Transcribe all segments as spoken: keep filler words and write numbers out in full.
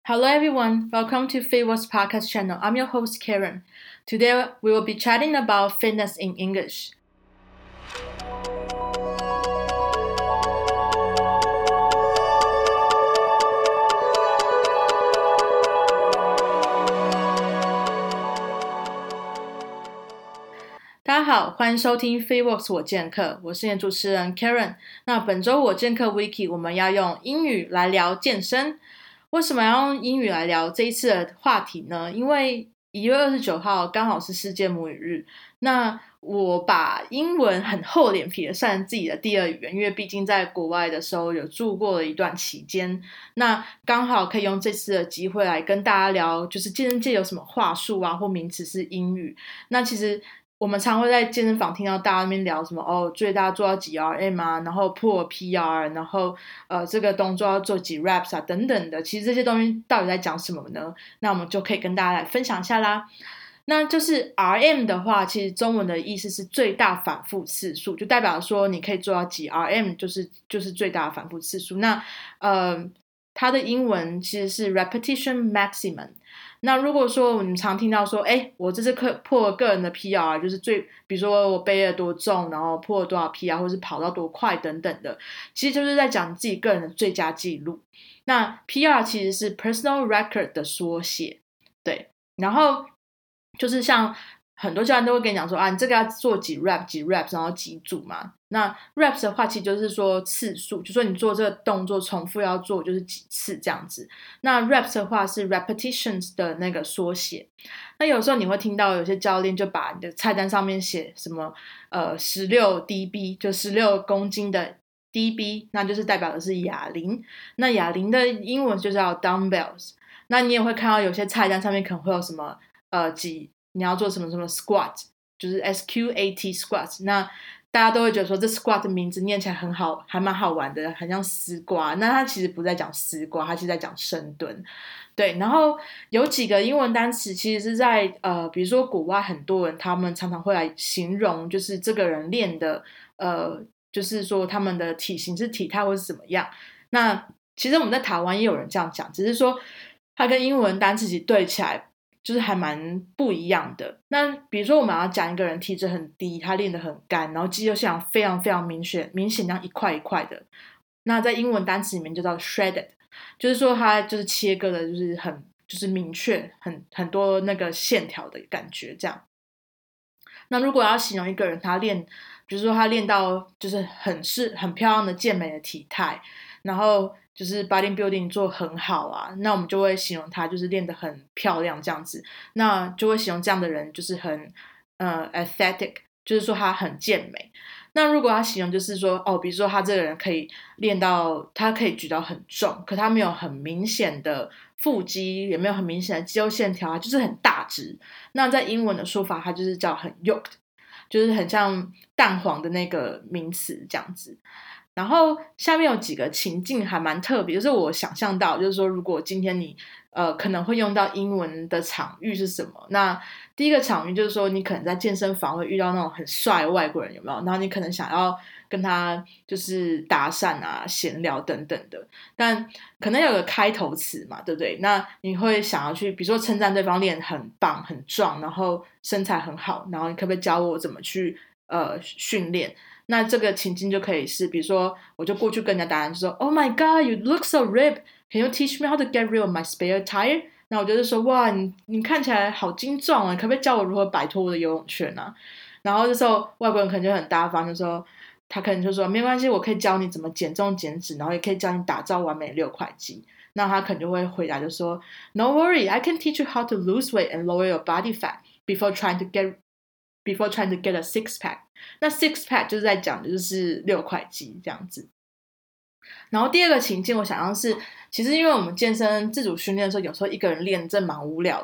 Hello everyone, welcome to Fitworks podcast channel. I'm your host Karen. Today we will be chatting about fitness in English. 大家好，欢迎收听 Fitworks 我健课，我是你的主持人 Karen。那本周我健课 Wiki 我们要用英语来聊健身。为什么要用英语来聊这一次的话题呢？因为一月二十九号刚好是世界母语日，那我把英文很厚脸皮的算成自己的第二语言，因为毕竟在国外的时候有住过了一段期间，那刚好可以用这次的机会来跟大家聊，就是健身界有什么话术啊或名词是英语。那其实我们常会在健身房听到大家那边聊什么哦，最大做到几 R M 啊，然后破 P R， 然后呃这个动作要做几 reps 啊等等的。其实这些东西到底在讲什么呢？那我们就可以跟大家来分享一下啦。那就是 R M 的话，其实中文的意思是最大反复次数，就代表说你可以做到几 R M， 就是就是最大的反复次数。那呃它的英文其实是 repetition maximum。那如果说你们常听到说，哎，我这次破了个人的 P R， 就是最，比如说我背了多重，然后破了多少 P R， 或是跑到多快等等的，其实就是在讲自己个人的最佳记录。那 P R 其实是 personal record 的缩写，对，然后就是像很多教练都会跟你讲说啊，你这个要做几 rep 几 reps， 然后几组嘛。那 reps 的话其实就是说次数，就说你做这个动作重复要做就是几次这样子。那 reps 的话是 repetitions 的那个缩写。那有时候你会听到有些教练就把你的菜单上面写什么呃十六 D B， 就十六公斤的 D B， 那就是代表的是哑铃。那哑铃的英文就叫 dumbbells。那你也会看到有些菜单上面可能会有什么呃几你要做什么什么 squat， 就是 S Q A T squat。那大家都会觉得说这 squat 的名字念起来很好，还蛮好玩的，很像丝瓜。那它其实不在讲丝瓜，它是在讲深蹲。对，然后有几个英文单词其实是在呃，比如说国外很多人他们常常会来形容，就是这个人练的呃，就是说他们的体型是体态或是怎么样。那其实我们在台湾也有人这样讲，只是说它跟英文单词其实对起来就是还蛮不一样的。那比如说我们要讲一个人体脂很低，他练得很干，然后肌肉线条非常非常明显明显这样一块一块的，那在英文单词里面就叫 shredded， 就是说它就是切割的就是很就是明确很很多那个线条的感觉这样。那如果要形容一个人他练比如说他练到就是很是很漂亮的健美的体态，然后就是 bodybuilding 做很好啊，那我们就会形容他就是练得很漂亮这样子。那就会形容这样的人就是很呃 aesthetic， 就是说他很健美。那如果他形容就是说哦，比如说他这个人可以练到他可以举到很重，可他没有很明显的腹肌，也没有很明显的肌肉线条，就是很大只。那在英文的说法它就是叫很 yoked， 就是很像蛋黄的那个名词这样子。然后下面有几个情境还蛮特别，就是我想象到就是说如果今天你呃可能会用到英文的场域是什么。那第一个场域就是说你可能在健身房会遇到那种很帅的外国人，有没有？然后你可能想要跟他就是搭讪啊闲聊等等的，但可能有个开头词嘛，对不对？那你会想要去比如说称赞对方练很棒很壮，然后身材很好，然后你可不可以教我怎么去呃训练。那这个情境就可以是比如说我就过去跟人家答案就说 Oh my god you look so ripped, can you teach me how to get rid of my spare tire？ 那我就是说哇你你看起来好精壮啊，可不可以教我如何摆脱我的游泳圈啊？然后这时候外国人可能就很大方，就说他可能就说没关系，我可以教你怎么减重减脂，然后也可以教你打造完美六块肌。那他可能就会回答就说 No worry, I can teach you how to lose weight and lower your body fat before trying to get before trying to get a six pack。 那 six pack 就是在讲的就是六块肌这样子。然后第二个情境我想象是其实因为我们健身自主训练的时候有时候一个人练真蛮无聊的，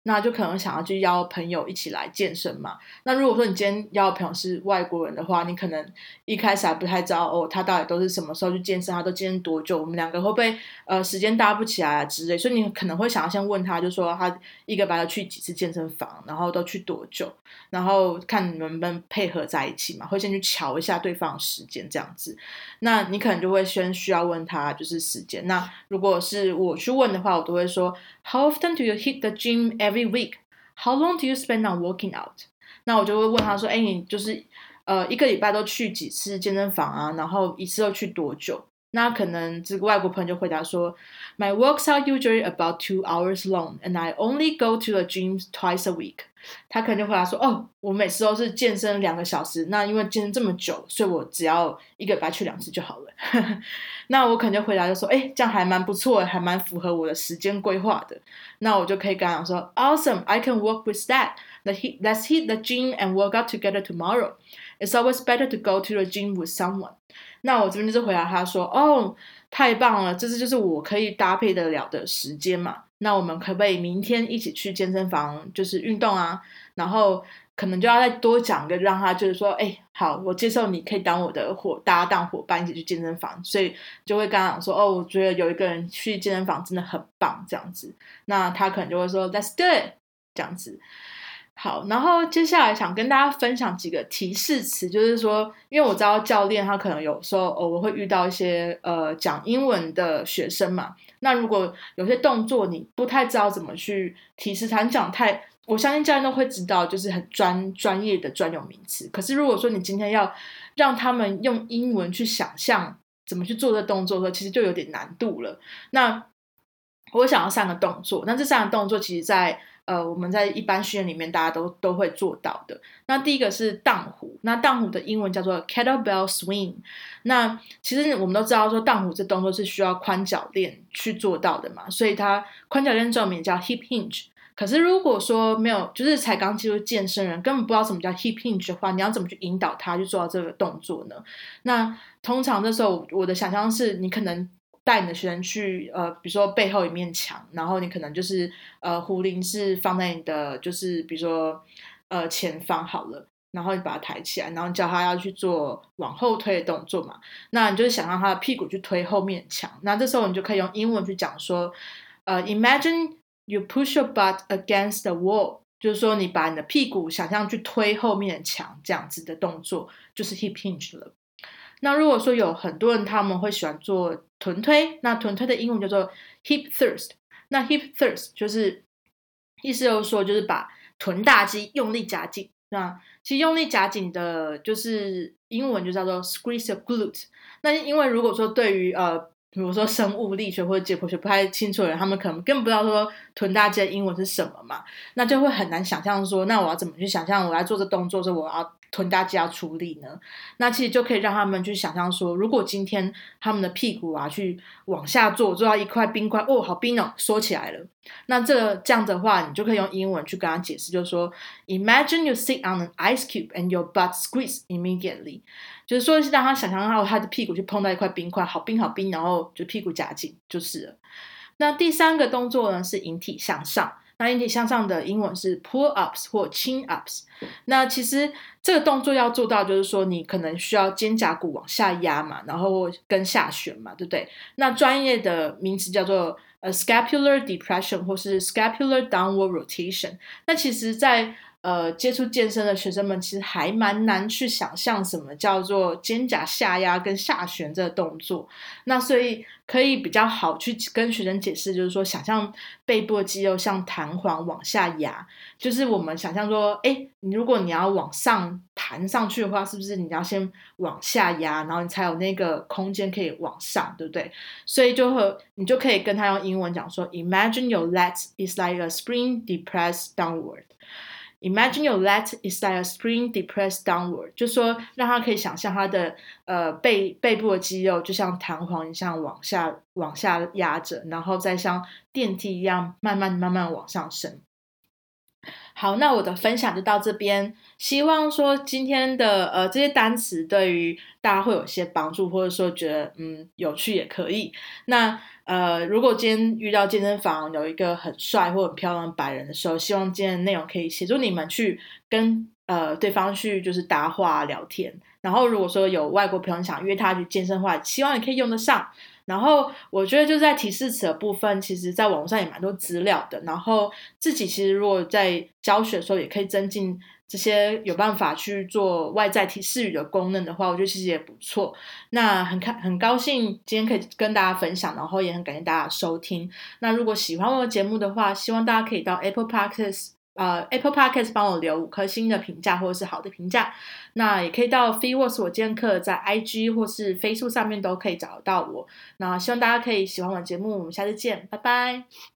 那就可能想要去邀朋友一起来健身嘛。那如果说你今天邀的朋友是外国人的话，你可能一开始还不太知道哦，他到底都是什么时候去健身，他都健身多久，我们两个会不会呃时间搭不起来啊之类，所以你可能会想要先问他，就说他一个礼拜要去几次健身房，然后都去多久，然后看你们能不能配合在一起嘛，会先去瞧一下对方的时间这样子。那你可能就会先需要问他就是时间。那如果是我去问的话，我都会说 How often do you hit the gym every week? How long do you spend on working out? 那我就会问他说，哎，你就是呃一个礼拜都去几次健身房啊？然后一次都去多久？那可能这个外国朋友就回答说 My works are usually about two hours long and I only go to the gym twice a week. 他可能就回答说哦，我每次都是健身两个小时，那因为健身这么久，所以我只要一个礼拜去两次就好了。那我可能就回答就说，哎，这样还蛮不错的，还蛮符合我的时间规划的。那我就可以跟他讲说 Awesome, I can work with that. Let's hit the gym and work out together tomorrow. It's always better to go to the gym with someone. 那我这边就是回答他说哦，太棒了，这就是我可以搭配得了的时间嘛。那我们可不可以明天一起去健身房就是运动啊？然后可能就要再多讲一个，让他就是说，哎，好，我接受你可以当我的伙搭档伙伴一起去健身房，所以就会跟他讲说，哦，我觉得有一个人去健身房真的很棒这样子。那他可能就会说 Let's do it 这样子。好，然后接下来想跟大家分享几个提示词，就是说，因为我知道教练他可能有时候偶尔会遇到一些呃讲英文的学生嘛，那如果有些动作你不太知道怎么去提示他，你讲太，我相信教练都会知道，就是很专专业的专有名词。可是如果说你今天要让他们用英文去想象怎么去做这动作的时候，其实就有点难度了。那我想要三个动作，那这三个动作其实在呃，我们在一般训练里面大家都都会做到的。那第一个是荡壶，那荡壶的英文叫做 kettlebell swing。那其实我们都知道说荡壶这动作是需要宽脚链去做到的嘛，所以它宽脚链中文名叫 hip hinge。可是如果说没有，就是才刚进入健身人根本不知道什么叫 hip hinge 的话，你要怎么去引导他去做到这个动作呢？那通常这时候我的想象是你可能带你的学生去呃，比如说背后一面墙，然后你可能就是呃壶铃是放在你的就是比如说呃前方好了，然后你把它抬起来，然后你叫他要去做往后推的动作嘛，那你就是想让他的屁股去推后面墙，那这时候你就可以用英文去讲说呃 Imagine you push your butt against the wall， 就是说你把你的屁股想象去推后面的墙，这样子的动作就是 hip hinge 了。那如果说有很多人他们会喜欢做臀推，那臀推的英文叫做 hip thrust。那 hip thrust 就是意思就是说就是把臀大肌用力夹紧。那其实用力夹紧的就是英文就叫做 squeeze your glute。那因为如果说对于呃比如说生物力学或者解剖学不太清楚的人，他们可能根本不知道说臀大肌的英文是什么嘛，那就会很难想象说那我要怎么去想象我要做这动作的时候我要臀大肌要出力呢？那其实就可以让他们去想象说，如果今天他们的屁股啊去往下坐，坐到一块冰块，哦，好冰哦，缩起来了。那这个这样的话，你就可以用英文去跟他解释，就是说 ，Imagine you sit on an ice cube and your butt squeeze immediately， 就是说是让他想象到他的屁股去碰到一块冰块，好冰好冰，然后就屁股夹紧就是了。那第三个动作呢是引体向上。那引体向上的英文是 pull ups 或 chin ups。那其实这个动作要做到，就是说你可能需要肩胛骨往下压嘛，然后跟下旋嘛，对不对？那专业的名词叫做呃 scapular depression 或是 scapular downward rotation。那其实在呃接触健身的学生们其实还蛮难去想象什么叫做肩胛下压跟下旋这个动作。那所以可以比较好去跟学生解释，就是说想象背部的肌肉像弹簧往下压，就是我们想象说诶你如果你要往上弹上去的话，是不是你要先往下压，然后你才有那个空间可以往上，对不对？所以就会你就可以跟他用英文讲说 Imagine your legs is like a spring depressed downward。Imagine your lat is like a spring depressed downward， 就说让他可以想象他的呃背背部的肌肉就像弹簧一样往下往下压着，然后再像电梯一样慢慢慢慢往上升。 好，那我的分享就到这边。希望说今天的呃这些单词对于大家会有些帮助，或者说觉得嗯有趣也可以。那呃如果今天遇到健身房有一个很帅或很漂亮的白人的时候，希望今天的内容可以协助你们去跟呃对方去就是搭话聊天。然后如果说有外国朋友想约他去健身的话，希望你可以用得上。然后我觉得就在提示词的部分，其实在网络上也蛮多资料的。然后自己其实如果在教学的时候，也可以增进这些有办法去做外在提示语的功能的话，我觉得其实也不错。那很开很高兴今天可以跟大家分享，然后也很感谢大家的收听。那如果喜欢我的节目的话，希望大家可以到 Apple Podcast。呃，Apple Podcast 帮我留五颗星的评价或者是好的评价，那也可以到 Freeworks 我健课在 I G 或是 Facebook 上面都可以找得到我。那希望大家可以喜欢我的节目，我们下次见，拜拜。